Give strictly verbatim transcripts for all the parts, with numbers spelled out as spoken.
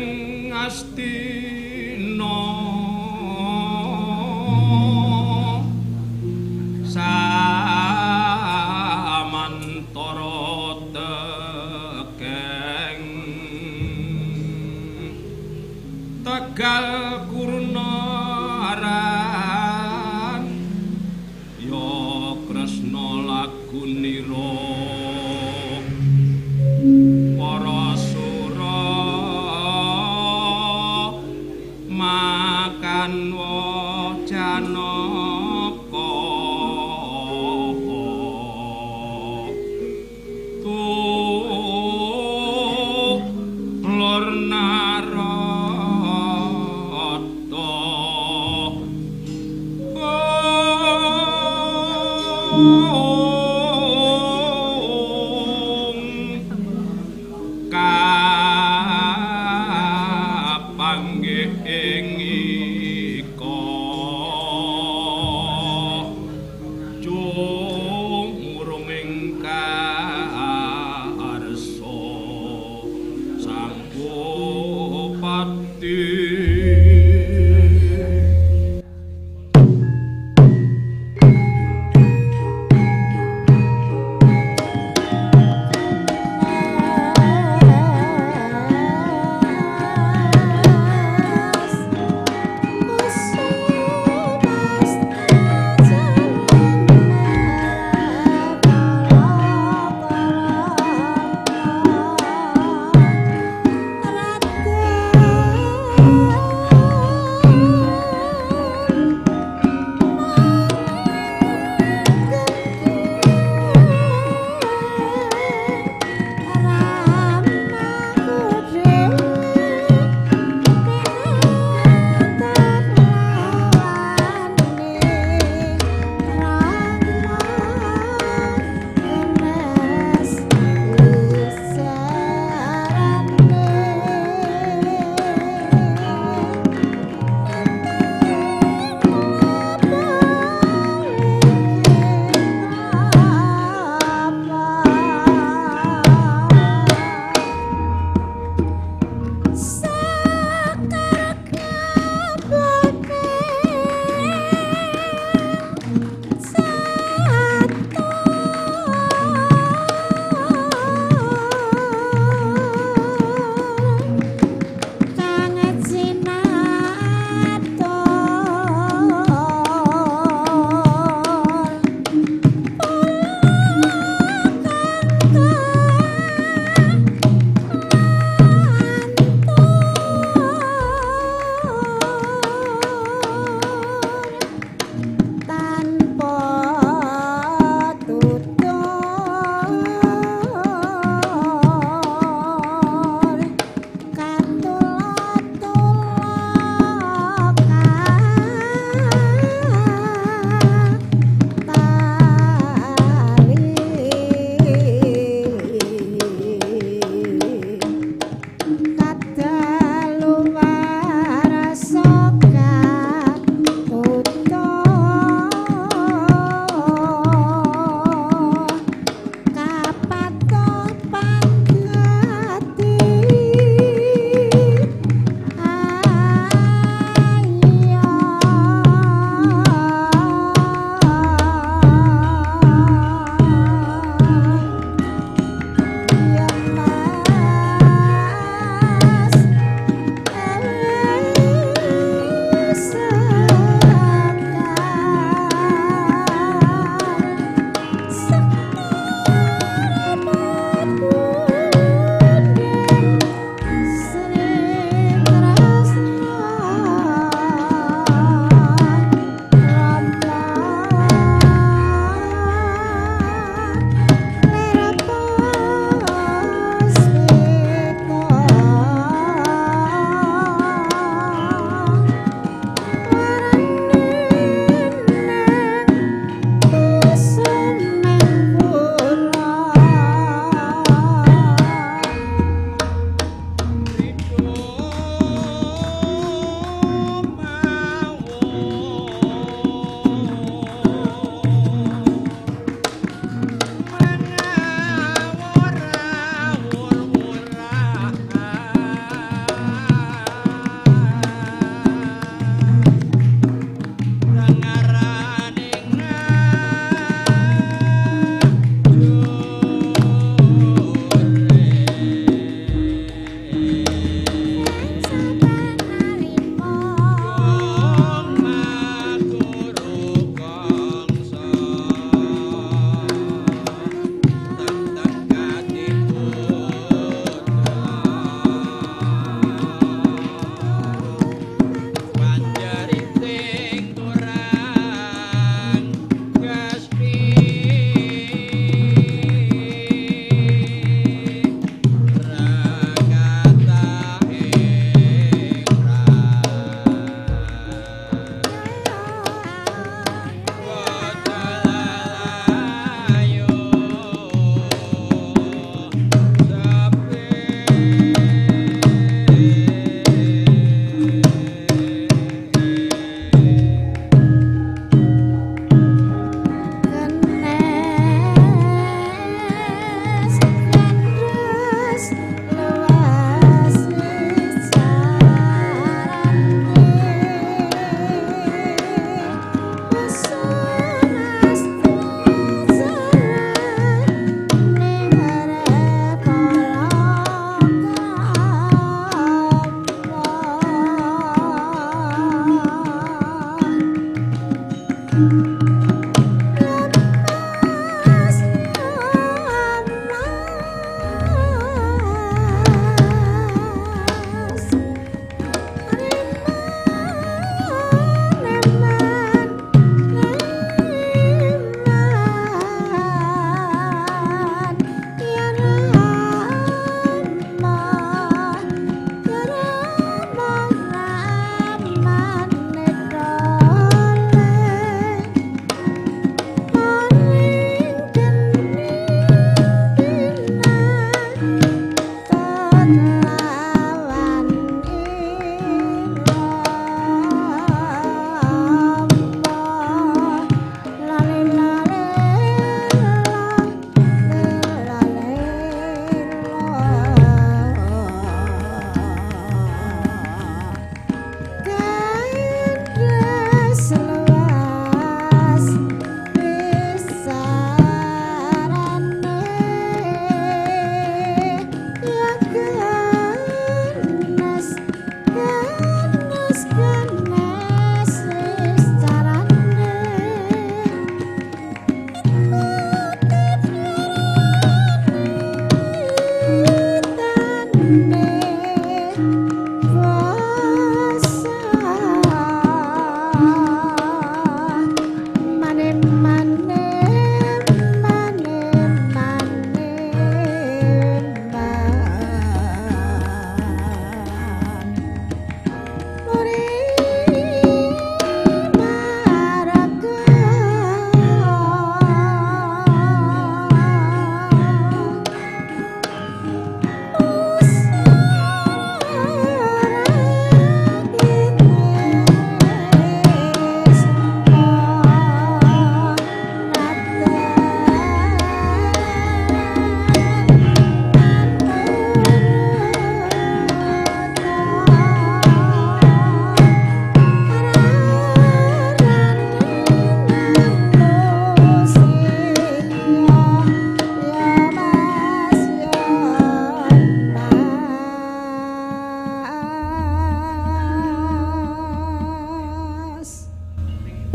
ing Astina samantara tegeng Tegal Kurnaran ya Kresna lagunira Parasura makan wajanaka tuh lor narayana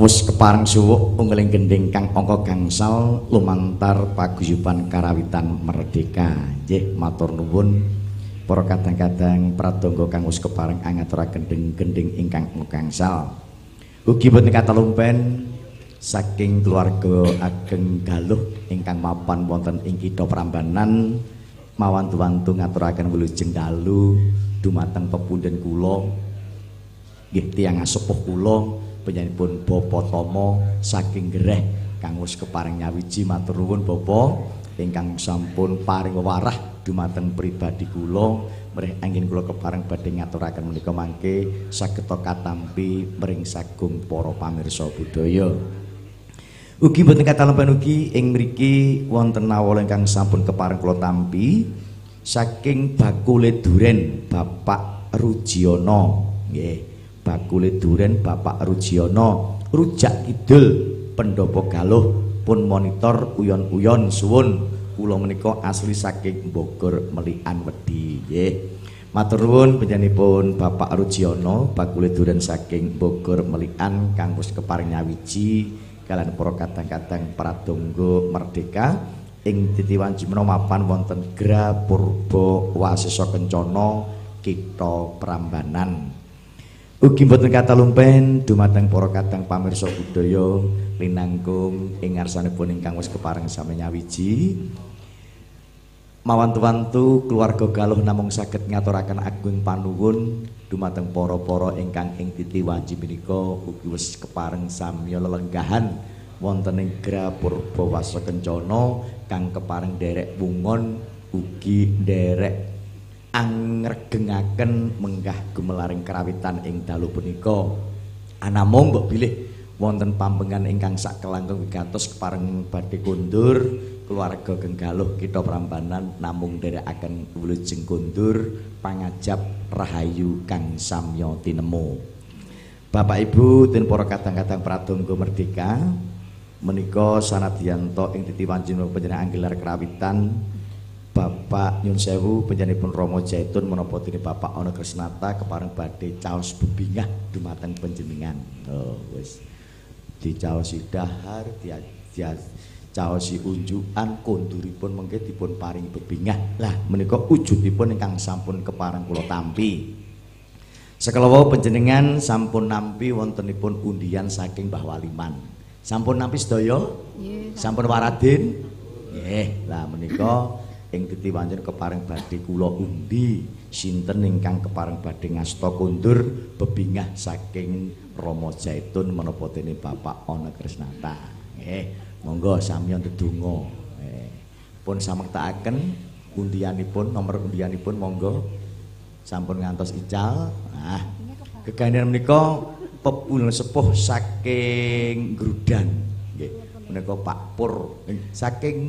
wis kepareng suwuk unggeling gending kang angka gangsal lumantar paguyuban karawitan merdeka. Nggih matur nuwun para kadang-kadang pradonga kang wis kepareng angaturaken gending ingkang gangsal. Ugi boten katalumpen saking keluarga ageng Galuh ingkang mapan wonten ing Kitha Prambanan mawantu-wantu ngaturaken wilujeng dalu dumateng pepundhen kula nggih tiyang sepuh kula panjenenganipun Bapa Tama saking Gereh kang wis keparing nyawiji matur nuwun Bapa ingkang sampun paring wewarah dumateng pribadi kula mrih anggen kula kepareng badhe ngaturaken menika mangke sageta katampi mring sagung para pamirsa budaya. Ugi boten katalumpen ugi ing mriki wonten awala ingkang sampun kepareng kula tampi saking bakule duren Bapak Rujiono nggih. Bakule duren Bapak Rujiono rujak kidul Pendopo Galuh pun monitor uyon-uyon suwun kula menika asli saking Bogor Melikan Wedi nggih. Matur nuwun panjenenganipun Bapak Rujiono bakule duren saking Bogor Melikan kang wis keparing nyawiji kalian para kadang-kadang pradonga merdeka ing titiwanci menawa mapan wonten Gra Purba Wasesa Kencana Kitha Prambanan. Ugi boten katalumpen dumateng para kadang pamirsa budaya linangkung ing ngarsanipun ingkang wis kepareng sami nyawiji mawantu-wantu keluarga Galuh namung saged ngaturaken agung panuwun dumateng para-para ingkang ing titiwanci menika ugi wis kepareng samya lelenggahan wonten ing Gra Purba Wasesa Kencana kang kepareng derek wungon ugi derek angregengaken menggah gumelaring karawitan ing dalu punika. Anamung mbok bilih wonten pambengan ingkang sak kelangkung wigatos kepareng badhe kondur keluarga Galuh Kitha Prambanan namung nderekaken wilujeng kondur pangajap rahayu kang samya tinemu. Bapak Ibu den para kadang-kadang pradonga merdeka menika sanadyan to ing titiwanci panjenengan anggelar karawitan Bapak nyun sewu panjenenganipun Rama Jaitun menapa dene Bapak Ana Krisnata kepareng badhe caos bebingah dumateng panjenengan. Oh wis dicaosi dahar dicaosi unjukan konduripun mengke dipun paring bebingah. Lah menika wujudipun ingkang sampun kepareng kula tampi. Sekala wau panjenengan sampun nampi wontenipun undian saking Mbah Waliman. Sampun nampi sedaya? Nggih. Sampun waradin? Nggih. Lah menika ing titiwanten kepareng badhe kula undi sinten ingkang kepareng badhe ngasta kondur bebingah saking Rama Jaitun menapa dene Bapak Ana Krisnata. Nggih, monggo samya ndedonga. Nggih. Pun samektakaken undianipun nomor undianipun monggo sampun ngantos ical. Nah, gegandhen menika pepul sepuh saking Grudan. Nggih, menika Pak Pur saking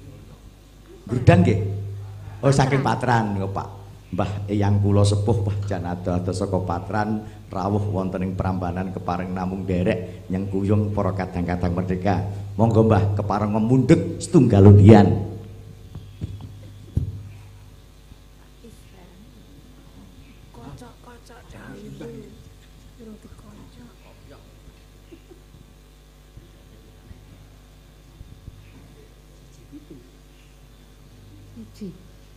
Grudan nggih. Oh saking Patran niku Pak. Mbah eyang kula sepuh Pak jan ado-ado saka Patran rawuh wonten ing Prambanan kepareng namung derek nyengkuyung para kadang-kadang merdeka. Monggo Mbah kepareng memundhut setunggal undian. Kocok-kocok dawuh. Durung dikocok. Iki.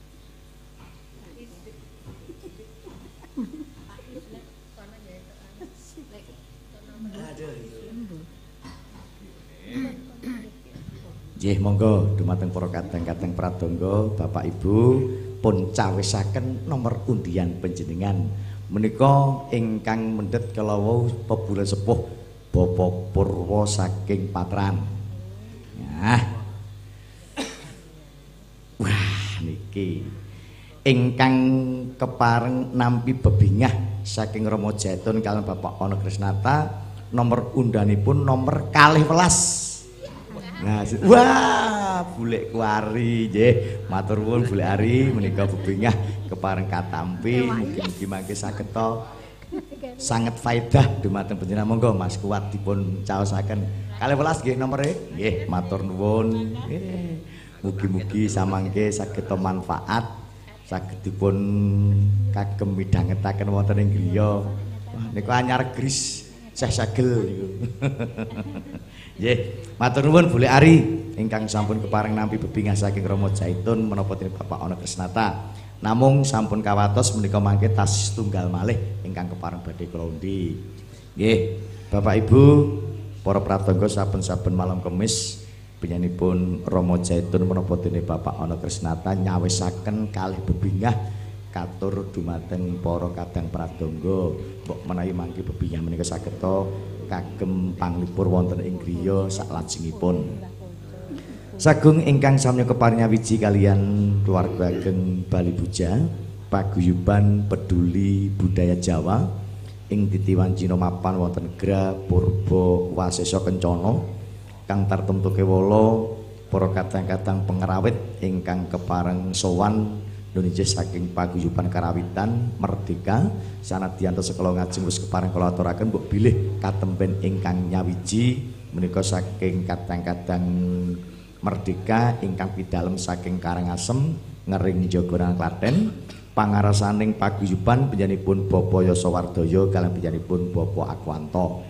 Nggih monggo dumateng para kadang-kadang pradonga Bapak Ibu pun cawisaken nomor undian panjenengan menika ingkang mendhet kalawu pebulan sepuh Bapak Purwa saking Patran. Nah. Wah niki ingkang kepareng nampi bebingah saking Rama Jaitun kaliyan Bapak Ana Krisnata nomor undanipun nomor kalih welas. Nah, wah, Bulek Kuari nggih. Matur nuwun Bulek Ari menika bebingah kepareng katampi mugi-mugi mangke saged to sanget faedah dumateng panjenengan. Monggo Mas Kuat dipun caosaken. kalih welas nggih nomere. Nggih, matur nuwun. Nggih. Mugi-mugi samangke saged manfaat saged dipun kagem midhangetaken wonten ing griya. Wah, niku anyar gris Syekh Sagel niku. Nggih, matur nuwun Bule Ari ingkang sampun kepareng nampi bebingah saking Rama Jaitun menapa dening Bapak Ana Krisnata. Namung sampun kawatos menika mangke tas tunggal malih ingkang kepareng badhe kula undi. Nggih, Bapak Ibu, para pratangga saben-saben malam Kamis penyanipun Rama Jaitun menapa dening Bapak Ana Krisnata nyawisaken kalih bebingah katur dumateng para kadang pratangga. Mbok menawi mangke bebingah menika sageta kagem panglipur wonten ing griya saklajengipun. Sagung ingkang samya keparing wiji kalian keluarga ageng Bali Buja paguyuban peduli budaya Jawa ing titiwan Cina mapan wonten Gra Purba Wasesa Kencana kang tartemtu kewala para kadang-kadang pengerawit ingkang kepareng sowan Indonesia saking paguyuban karawitan merdeka sanadyan sekala ngajeng wis kepareng kula aturaken mbok bilih katemben ingkang nyawiji menika saking kadang-kadang merdeka ingkang pidalem saking Karangasem ngering Jogoran Klaten pangarasaning paguyuban panjenenganipun Bapak Yasawardaya kaliyan panjenenganipun Bapak Akwanto.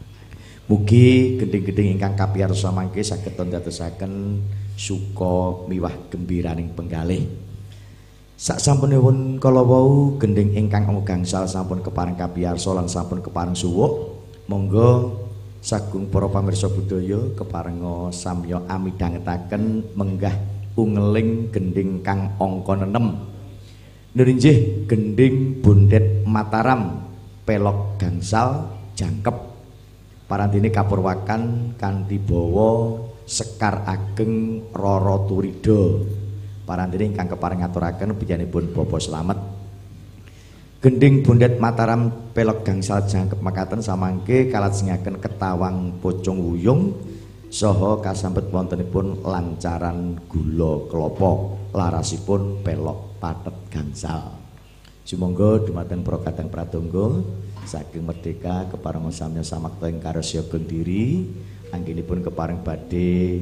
Mugi gending-gending ingkang kapiyarsa mangke saged ndadosaken suka miwah gembiraning penggalih. Sak sampunipun kala wau gending ingkang gangsal sampun kepareng kapiyarsa lan sampun kepareng suwuk monggo sagung para pamirsa budaya keparenga samya amidhangetaken menggah ungeling gending kang angka enam. Nggih gending Bondet Mataram pelok gangsal jangkep parantine kapurwakan kanthi bawa Sekar Ageng Rara Turida. Parantine ingkang kepareng ngaturaken panjenenganipun Bapak Slamet. Gending Bondet Mataram pelok gangsal jangkep makaten samangke kalajengaken ketawang pocong wuyung saha kasambet wontenipun lancaran gula klapa larasipun pelok pathet gangsal. Sumangga dumateng para kadang pratangga saking merdeka kepareng samya samakta ing karya ageng diri anggenipun kepareng badhe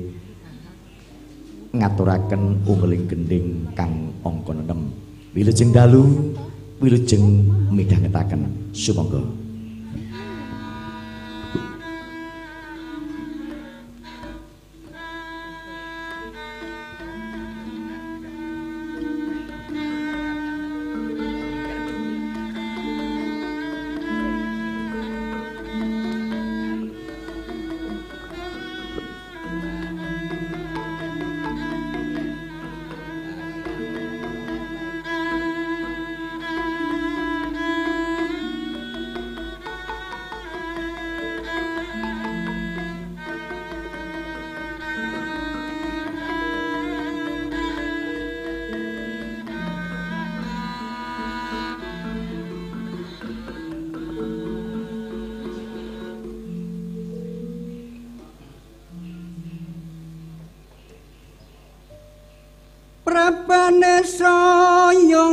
ngaturaken ungeling gending kang angka enam. Wilujeng dalu wilujeng midhangetaken sumangga. Prabane saya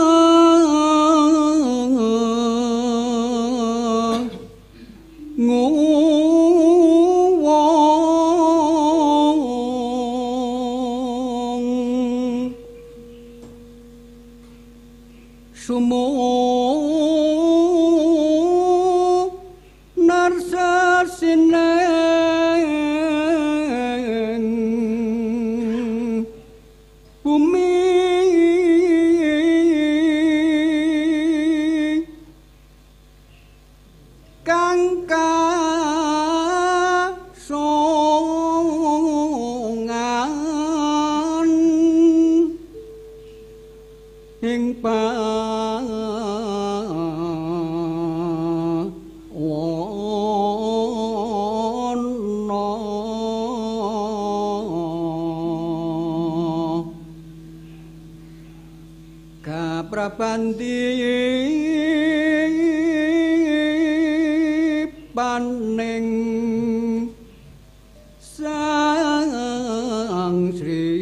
nguwong sumo narsa sineng Prabandi paning Sang Sri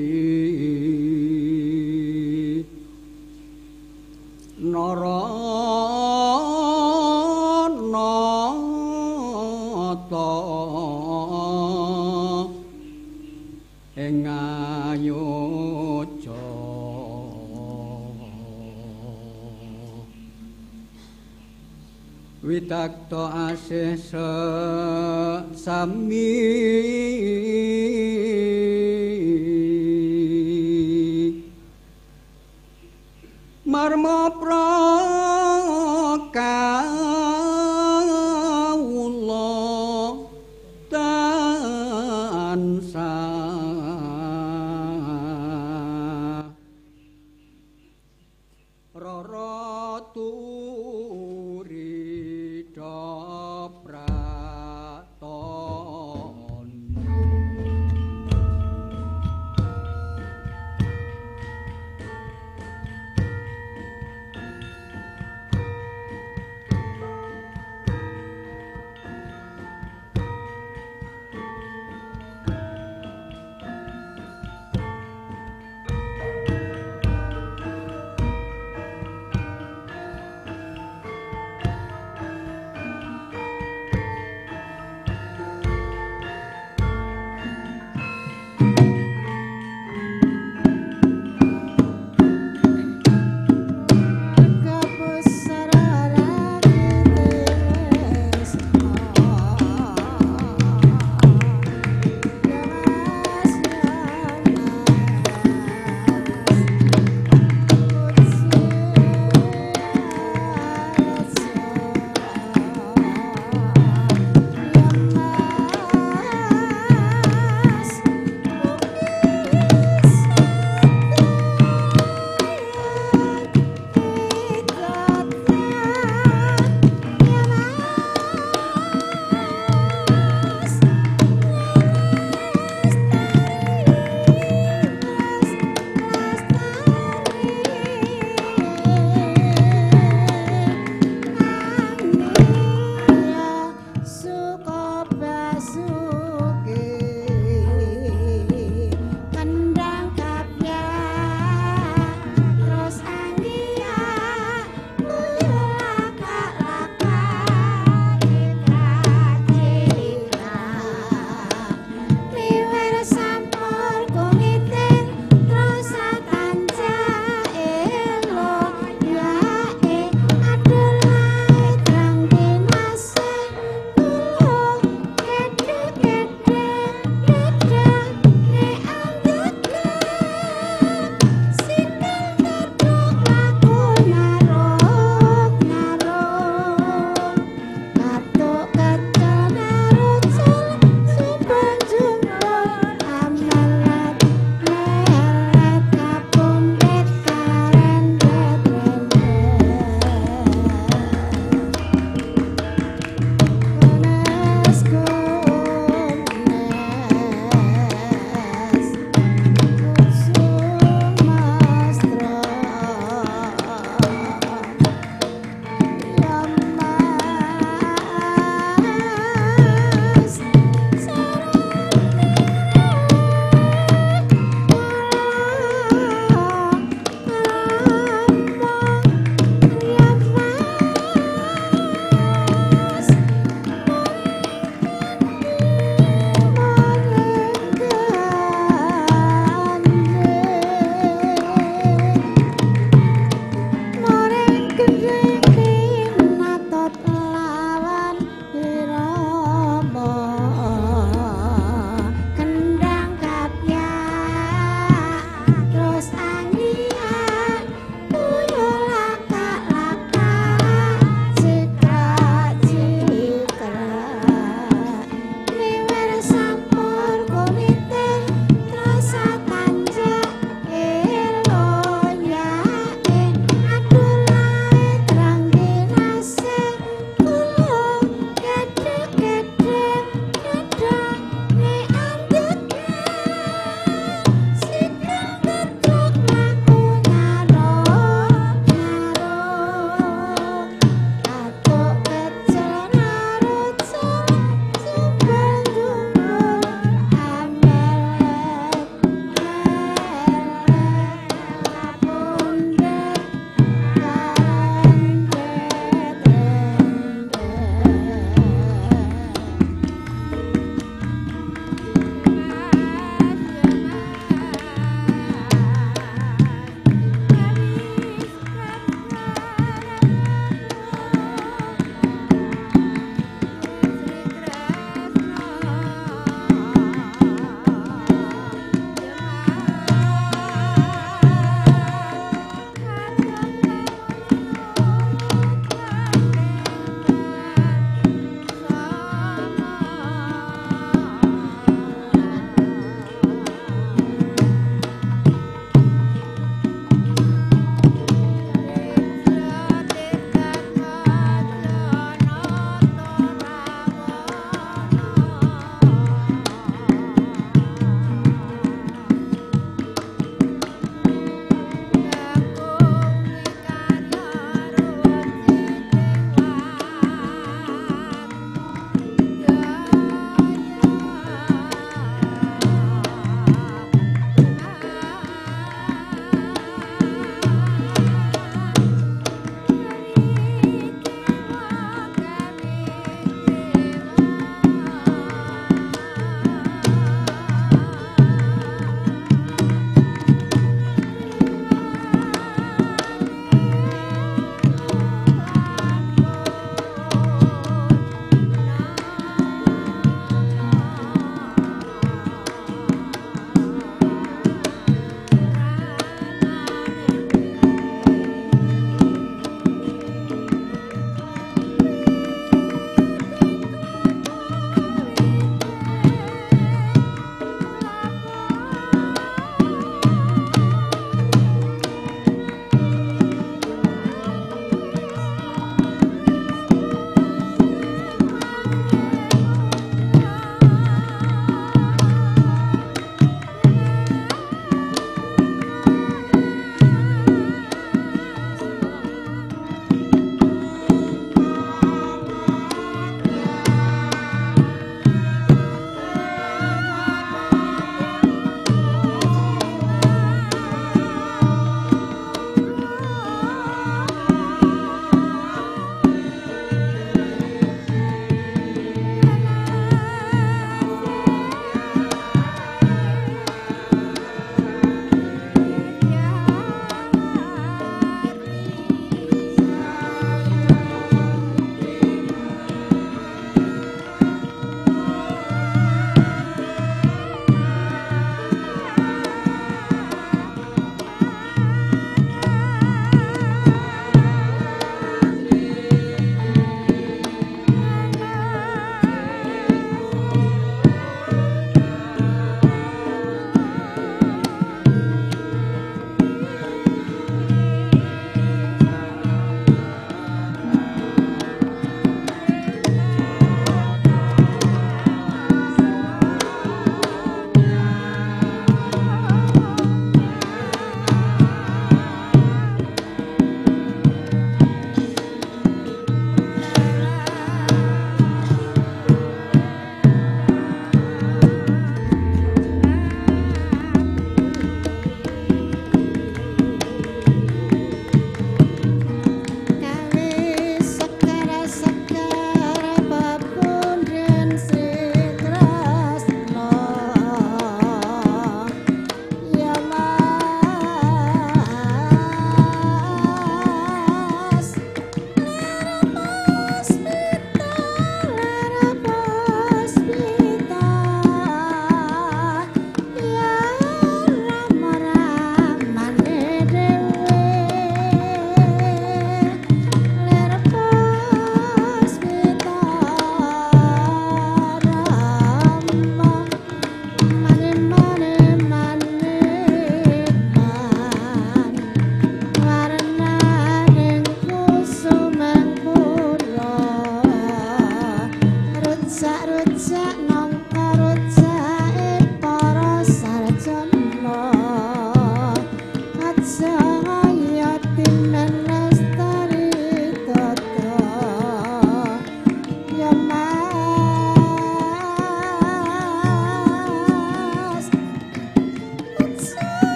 Naranata ing Ayodya Witakto asih sami marma prakawula tansah rara turida praton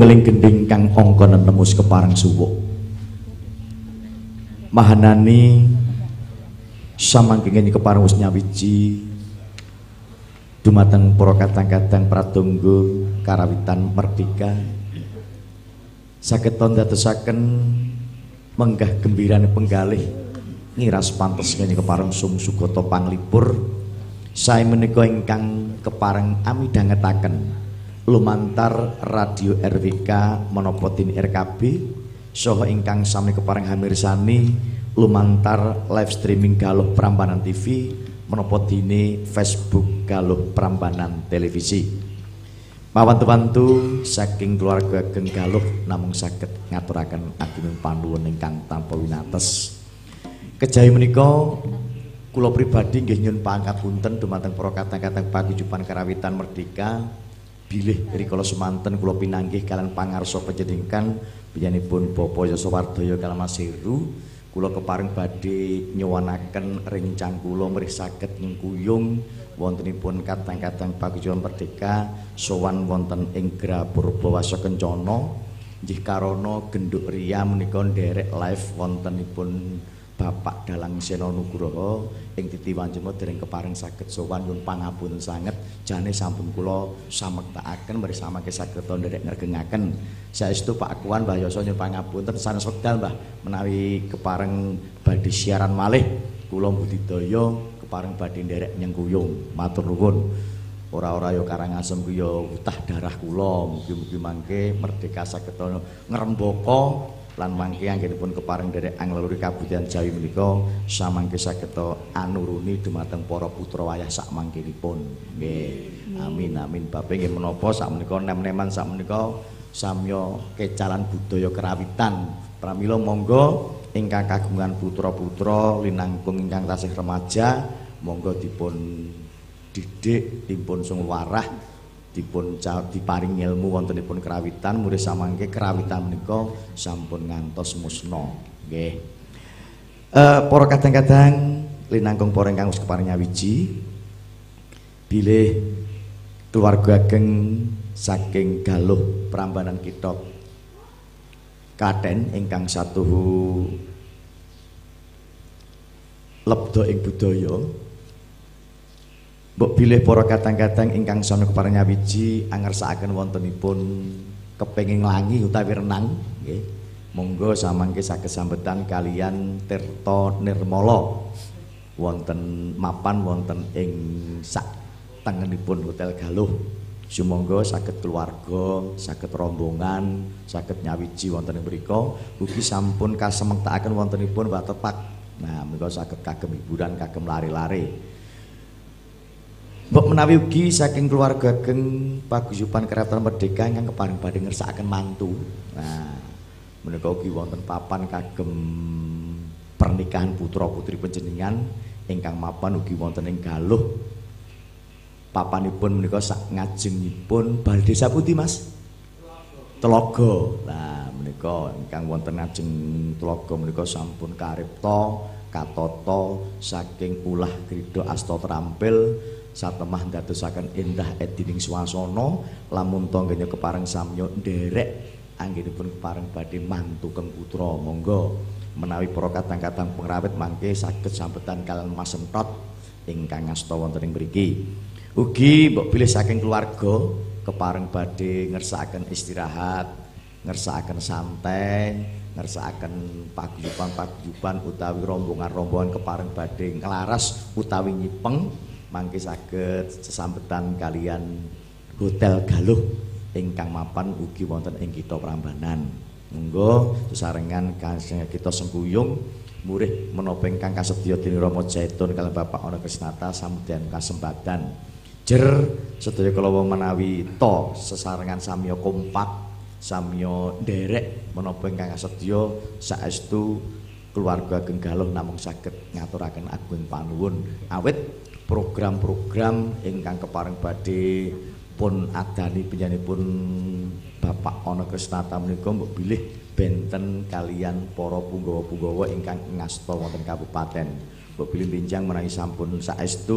Satunggaling gending kang angka nemus kepareng suwuk. Mahanani samangkenging kepareng wis nyawiji dumateng para kadang-kadang pratangga karawitan merdeka saged ndadosaken menggah gembirane penggalih ngiras pantes kene kepareng sumsugata panglipur sae menika ingkang kepareng amidhangetaken lumantar radio R W K menapa tin R K B saha ingkang sami kepareng hamirsani lumantar live streaming Galuh Prambanan T V menapa dene Facebook Galuh Prambanan Televisi. Pawantu-wantu saking keluarga ageng Galuh namung saged ngaturaken agunging panuwun ingkang tanpa winates. Kejawi menika kula pribadi nggih nyuwun pangapunten dumateng para kadang-kadang paguyuban karawitan merdeka bilih rikala semanten kula pinanggih kalian pangarsa panjenengan panjenenganipun Bapak Yosowardaya kaliyan Mas Heru. Kula kepareng badhe nyuwanaken rencang kula mrih saged nyengkuyung wontenipun kadang-kadang paguyuban merdeka sowan wonten ing Gra Purbawasa Kencana nggih karana genduk ria menika nderek live wontenipun Bapak Dalang Sena Nugroho ing Titi Wancana dereng kepareng saged sowan nyuwun pangapunten sanget jane sampun kula samektakaken mrih samangke saged nderek ngregengaken saestu Pak Akuan Mbah Yasa nyuwun pangapunten sanes wekdal Mbah menawi kepareng badhe siaran malih kula budidaya kepareng badhe nderek nyengkuyung matur nuwun ora-ora ya Karangasem ku ya utah darah kula mugi-mugi mangke merdeka saged ngrembaka lan mangke anggenipun kepareng derek angleluri kabudayan Jawi menika samangke saged anuruni dumateng para putra wayah sak mangkenipun nggih amin amin bape nggih menapa sak menika nem-neman sak menika samya kecalan budaya kerawitan pramila monggo ingkang kagungan putra-putra linangkung ingkang tasih remaja monggo dipun didik dipun sungwarah dipun diparing ilmu wontenipun kerawitan murid samangke kerawitan menika sampun ngantos musna nggih. Eh para kadang-kadang linangkung para ingkang wis keparing nyawiji bilih keluarga ageng saking Galuh Prambanan kita Klaten ingkang satuhu lebda ing budaya mbok bilih para kadang-kadang ingkang sami kepareng nyawiji angersakaken wontenipun kepenging langi utawi renang nggih monggo samangke saged sambetan kalian Tirta Nirmala wonten mapan wonten ing sak tengenipun Hotel Galuh sumangga saged keluarga saged rombongan saged nyawiji wonten ing mriku ugi sampun kasemektakaken wontenipun watepak nah menika saged kagem hiburan kagem lare-lare. Mbok menawi ugi saking keluarga ageng paguyuban keraton merdeka ingkang kepareng badhe ngersakaken mantu. Nah, menika ugi wonten papan kagem pernikahan putra-putri panjenengan ingkang mapan ugi wonten ing Galuh. Papanipun menika sak ngajengipun Balai Desa pundi, Mas? Telaga. Nah, menika ingkang wonten ngajeng Telaga menika sampun karipta katata saking ulah krida asta trampil satemah ndadosaken endah edining swasana lamun tangganya kepareng samya nderek anggenipun kepareng badhe mantu keng putra monggo menawi para kadang-kadang pengrawit mangke saged sambetan kalian Mas Entot ingkang ngasta wonten ing mriki ugi mbok bilih saking keluarga kepareng badhe ngersakaken istirahat ngersakaken santai ngersakaken paguyuban-paguyuban utawi rombongan-rombongan kepareng badhe nglaras utawi nyipeng mangke saged sesambetan kalian Hotel Galuh ingkang mapan ugi wonten ing Kitha Prambanan. Monggo sesarengan kita sengkuyung murih menapa ingkang kasedya dening Rama Jaitun kaliyan Bapak Ana Krisnata samudyan kasembatan. Jer sedaya kala menawi to sesarengan samya kompak samya nderek menapa ingkang kasedya saestu keluarga ageng Galuh namung saged ngaturaken agung panuwun awit program-program ingkang kepareng badhe pun adani penyanipun Bapak Ana Krisnata menika mbok bilih benten kalian para punggawa-punggawa ingkang ngasta wonten kabupaten mbok bilih benjang menawi sampun saestu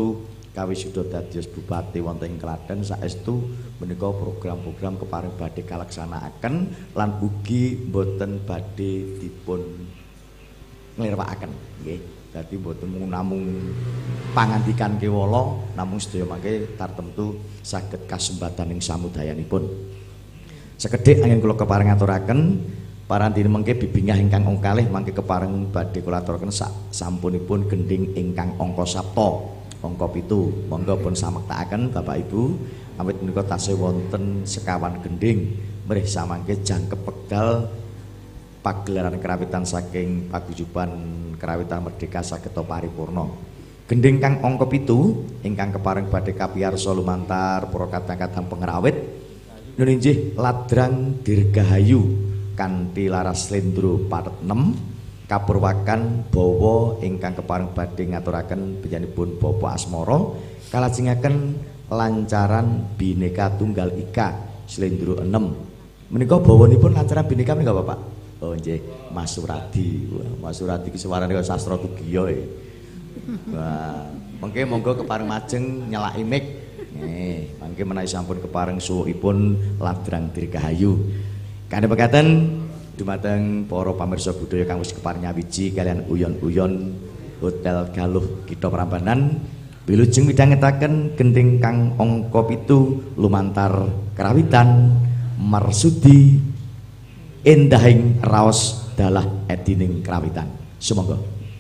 kawisuda dados bupati wonten ing Klaten saestu menika program-program kepareng badhe kalaksanakaken lan ugi boten badhe dipun nglirwakaken nggih. Dadi boten namung pangandikan kewala namung sedaya mangke tartemtu saged kasembadaning samudayanipun. Sekedhik angin kula kepareng aturaken parantine mengke bibingah ingkang ong kalih mangke kepareng badhe kula aturaken sak sampunipun gending ingkang angka sapta. Angka pitu, monggo pun samektakaken Bapak Ibu, awit menika tasih wonten sekawan gending mrih samangke jangkep wekdal pagelaran kerawitan saking paguyuban kerawitan merdeka saged paripurna. Gending kang angka pitu ingkang kepareng badhe kapiyarsa lumantar para kadang-kadang pengrawit nuninjih Ladrang Dirgahayu kanthi laras slendro pathet enem kapurwakan bawa ingkang kepareng badhe ngaturaken benjanipun Bapak Asmara kalajengaken lancaran Bhinneka Tunggal Ika slendro enam. Menika bawanipun lancaran Bhinneka menika Bapak? Oh nggih, Mas Suradi. Wah, Mas Suradi ki suwarane kaya sastra tugiya e. Wah, mengke monggo kepareng majeng nyelaki mic. Nggih, mangke menawi sampun kepareng suwukipun Ladrang Dirgahayu. Kanthi mekaten dumateng para pamirsa budaya kang wis kepareng nyawiji kalian uyon-uyon Hotel Galuh Kitha Prambanan wilujeng midhangetaken gending kang angka pitu lumantar kerawitan marsudi endahing raos dalah edining kerawitan. Sumangga.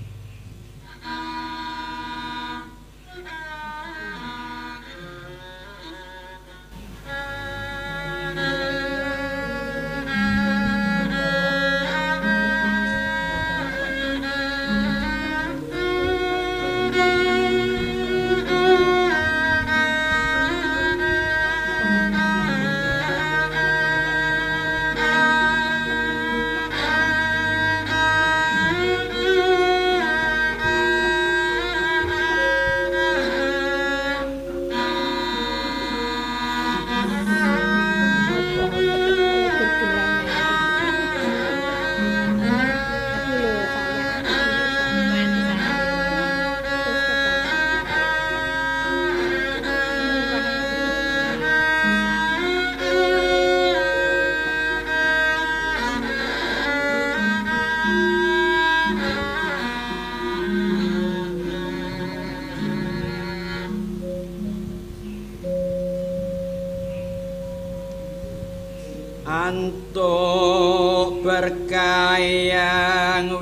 Antuk berkayang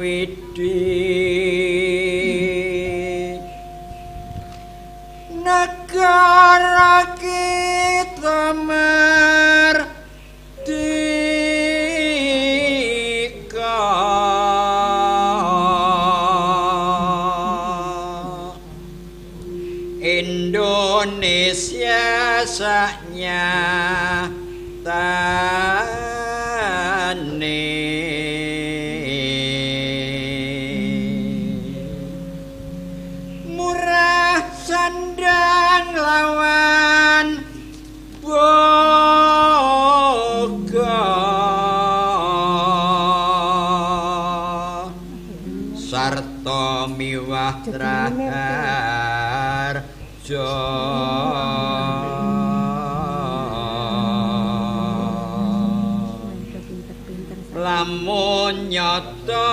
widi negara kita merdeka Indonesia saknya tane murah sandang lawan boga sarta miwah traharja lamun nyata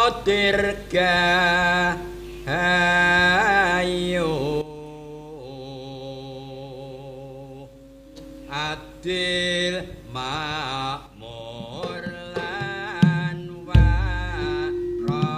dirgahayu adil makmur lan warata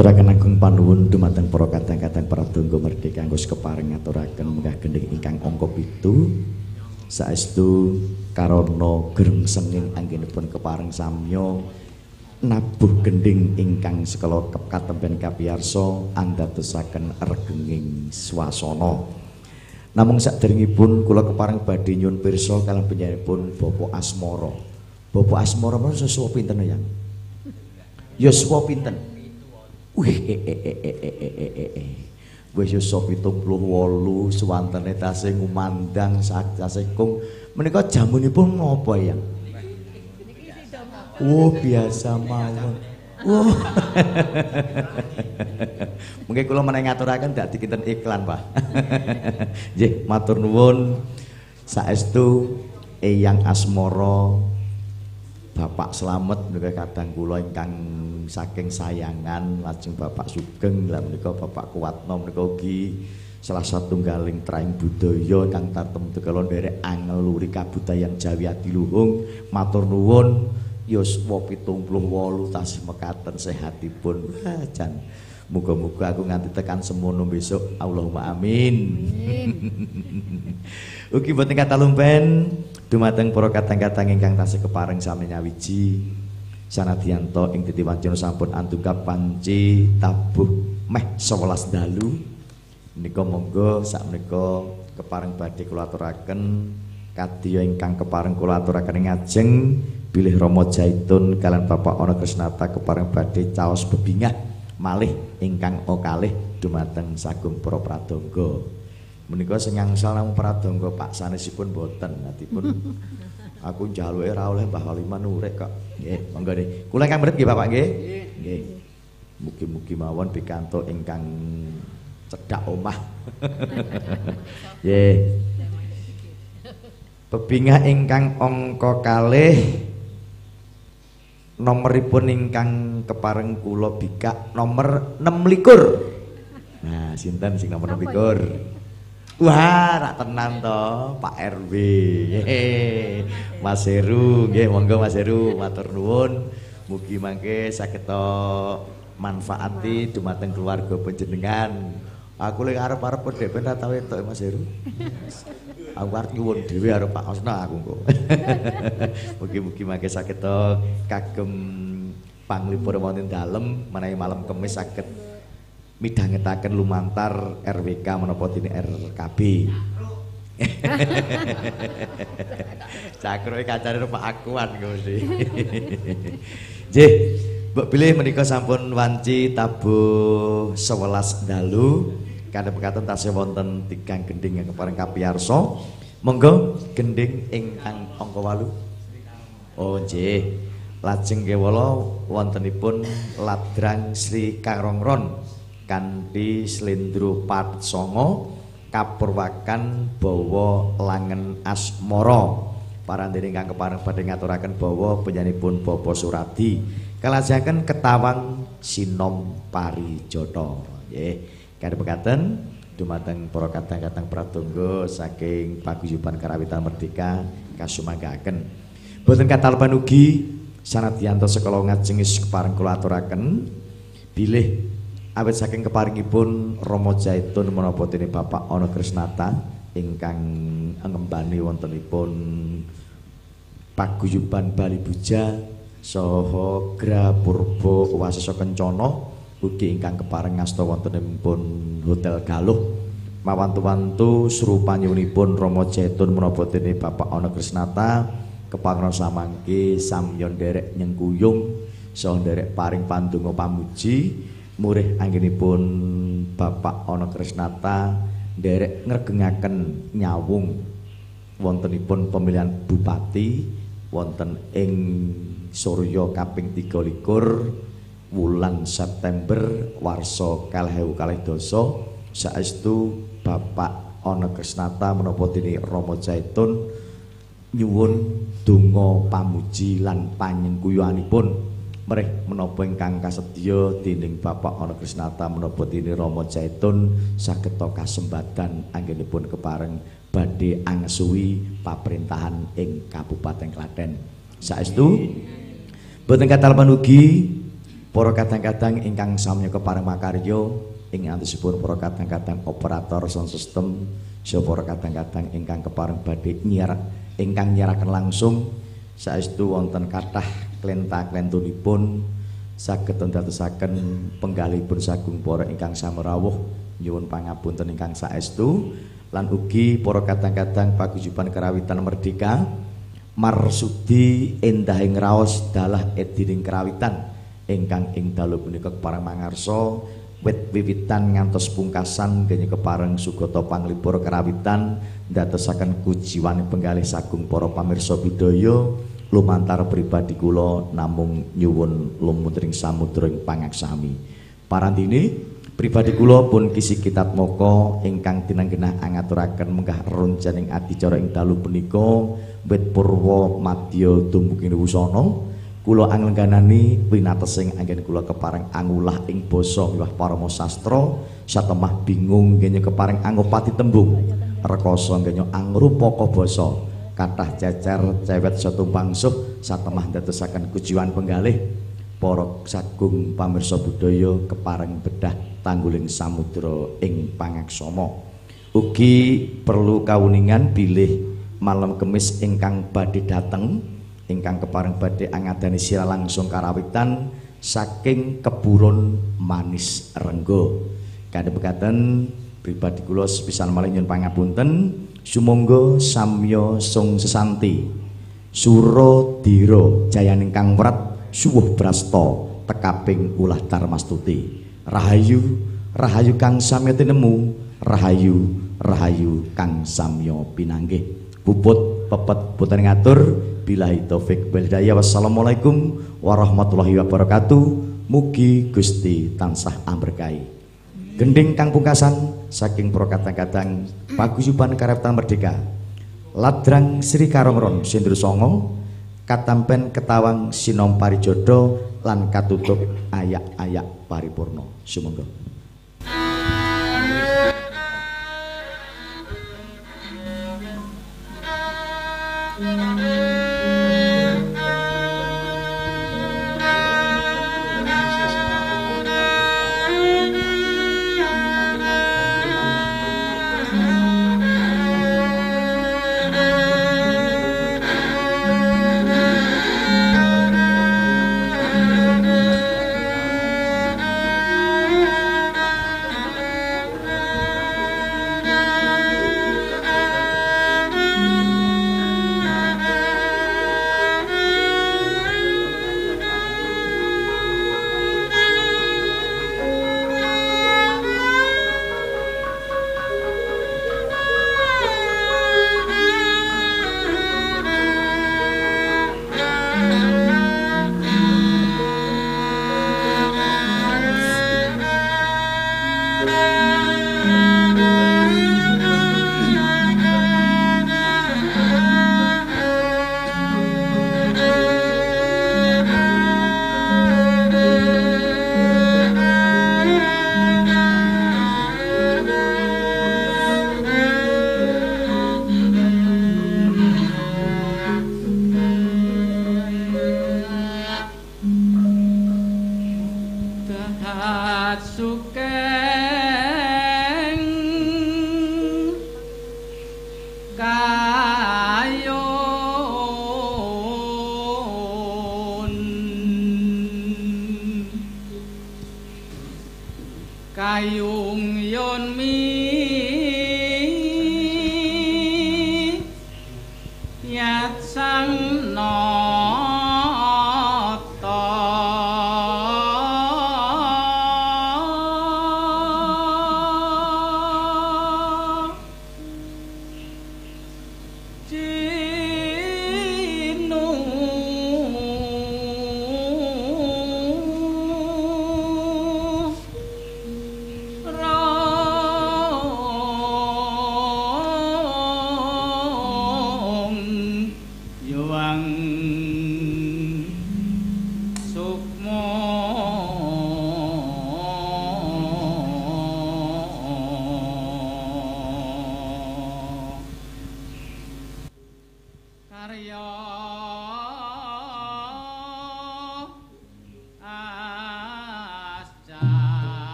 ngaturaken agung panuwun dumateng para kadang-kadang pradonga merdeka kanggo kepareng ngaturaken munggah gending ingkang angka pitu saestu karana gerem senging anggenipun kepareng samya nabuh gending ingkang sekala katemben kapiyarsa andadosaken regenging swasana. Namung saderengipun kula kepareng badhe nyuwun pirsa kaliyan panjenenganipun Bapak Asmara. Bapak Asmara menawa yuswa pinten ya? Yuswa pinten? Wih, eh, eh, eh, eh, eh, eh, eh, eh. Wis yuswa pitung puluh wolu suwantene tasih ngumandang tasih kung menika jamunipun napa ya? Oh, biasa mawon. Oh. Mungkin kula menawi ngaturaken dak dikinten iklan, Pak. Nggih, matur nuwun saestu Eyang Asmara Bapak Slamet menika kadang kula ingkang saking sayangan lajeng Bapak Sugeng lan menika Bapak Kuwatno menika ugi salah satunggaling traing budaya kang tatem tegala nderek angeluri kabudayan Jawi Adiluhung. Matur nuwun yuswa pitung puluh wolu tasih mekaten sehatipun. Wah, jan muga-muga aku nganti tekan semono besok. Allahumma amin. Ugi boten kata lumpen dumateng para kadang-kadang ingkang tasih kepareng sami nyawiji sanadyanto ing titiwancana sampun antungkap panci tabuh meh sewelas dalu menika monggo sakmenika kepareng badhe kula aturaken kadya ingkang kepareng kula aturaken ngajeng bilih Rama Jaitun kalian Bapak Ana Krisnata kepareng badhe caos bebingah malih ingkang kalih dumateng sagung para pradonga. Menika sing ngangsal namung pradonga Pak sanesipun boten natipun aku njaluke ora oleh Mbah Waliman urek kok. Nggih, monggo nggih. Kula ingkang mriki nggih Bapak nggih. Nggih. Mugi-mugi mawon pikantuk ingkang cedhak omah. Nggih. Bebingah ingkang angka kalih nomoripun ingkang kepareng kula bikak nomor enam likur. Nah, sinten sing nomor enam likur? Wah, rak tenan to, Pak R W. Mas Heru, nggih monggo Mas Heru, matur nuwun. Mugi mangke saged manfaati dumateng keluarga panjenengan. Aku lek arep-arep dhek ben ra tau entuk Mas Heru. Aku arep nyuwun dhewe karo Pak Osna aku kok. Mugi-mugi mangke saged kagem panglipur wonten dalem menawi malam Kamis saged midhangetaken lumantar R W K menapa dene R K B. Cakroe kancane Pak Akuan Gusti. Nggih, mbok bilih menika sampun wanci tabuh sewelas dalu kadang pekaten tasih wonten tigang gending yang kepareng kapiyarsa. Monggo gending ingkang angka wolu. Oh nggih. Lajeng kewala wontenipun Ladrang Sri Karongron kanthi slendro pat songo kapurwakan bawa langen asmara parandene ingkang kepareng badhe ngaturaken bawa penyanipun Bapak Suradi kalajaken ketawang sinom parijata nggih kadhe pekaten dumateng para kadang-kadang pradonga saking paguyuban karawitan merdeka kasumanggaken boten katalpan ugi sanadyanto sekala ngajengis kepareng kula aturaken bilih awit saking keparingipun Rama Jaitun menapa dene Bapak Ana Krisnata ingkang ngembani wontenipun paguyuban Bali Buja saha Gra Purba Wasesa Kencana ugi ingkang kepareng ngasta wontenipun Hotel Galuh mawantu-wantu srupanyunipun Rama Jaitun menapa dene Bapak Ana Krisnata kepareng samangke samya nderek nyengkuyung saha nderek paring pandonga pamuji murih anggenipun Bapak Ana Krisnata nderek ngregengaken nyawung wontenipun pemilihan bupati wonten ing Surya kaping tiga likur wulan September warsa kalih ewu kalih dasa saestu Bapak Ana Krisnata menapa dene Rama Jaitun nyuwun donga pamuji lan panyengkuyuhanipun merih menapa ingkang kasedya dening Bapak Ana Krisnata menapa dene Rama Jaitun saged kasembadan anggenipun kepareng badhe angsuhi pamerintahan ing Kabupaten Klaten. Saestu boten katalpan ugi Para kadang-kadang ingkang samya kepareng makarya ing antusipun para kadang-kadang operator sound system, saha para kadang-kadang ingkang kepareng badhe nyiar ingkang nyiaraken langsung saestu wonten kathah klenta-klentunipun saged ndadosaken penggalihipun sagung para ingkang samerawuh nyuwun pangapunten ingkang saestu lan ugi para kadang-kadang paguyuban karawitan merdeka marsudi endahing raos dalah edining karawitan ingkang ing dalu punika kepareng mangarsa wit wiwitan ngantos pungkasan genya kepareng sugata panglipur karawitan ndadosaken kujiwaning penggalih sagung para pamirsa budaya lumantar pribadi kula namung nyuwun lumutring samudra ing pangaksami. Parandene pribadi kula pun kisi kitab moko ingkang tinenggenah angaturaken menggah ronjaning adicara ing dalu punika wit purwa madya dumugi wusana. Kula anglengganani winatesing anggen kula kepareng angulah ing basa miwah parama sastra satemah bingung nggenya kepareng angopati tembung rekoso nggenya angrupaka basa kathah cecer cewet setumpang suh satemah ndadosaken kujiwan penggalih para sagung pamirsa budaya kepareng bedah tangguling samudra ing pangaksama. Ugi perlu kawuningan bilih malam Kemis ingkang badhe dateng ingkang kepareng badhe angadani sira langsung karawitan saking Keburon Manis Renggo. Kadhe mekaten pribadi kula sepisan malih nyuwun pangapunten sumangga samya sung sesanti Suradira jayaning kang wrat suwuh brasta tekaping ulah Darmastuti. Rahayu rahayu kang samya tinemu rahayu rahayu kang samya pinanggih. Puput pepet puter ngatur billahi taufik wal hidayah. Wassalamualaikum warahmatullahi wabarakatuh. Mugi Gusti tansah amberkahi. Gending kang pungkasan saking para kadang-kadang paguyuban karawitan merdeka Ladrang Sri Karongron Sindru Songo katampen ketawang sinom parijodo lan katutup ayak-ayak paripurna. Sumangga.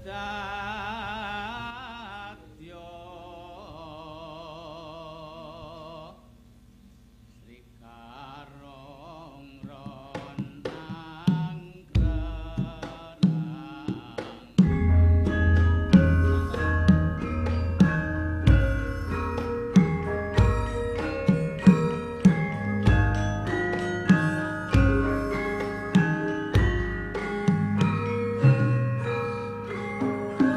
Thank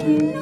Thank you.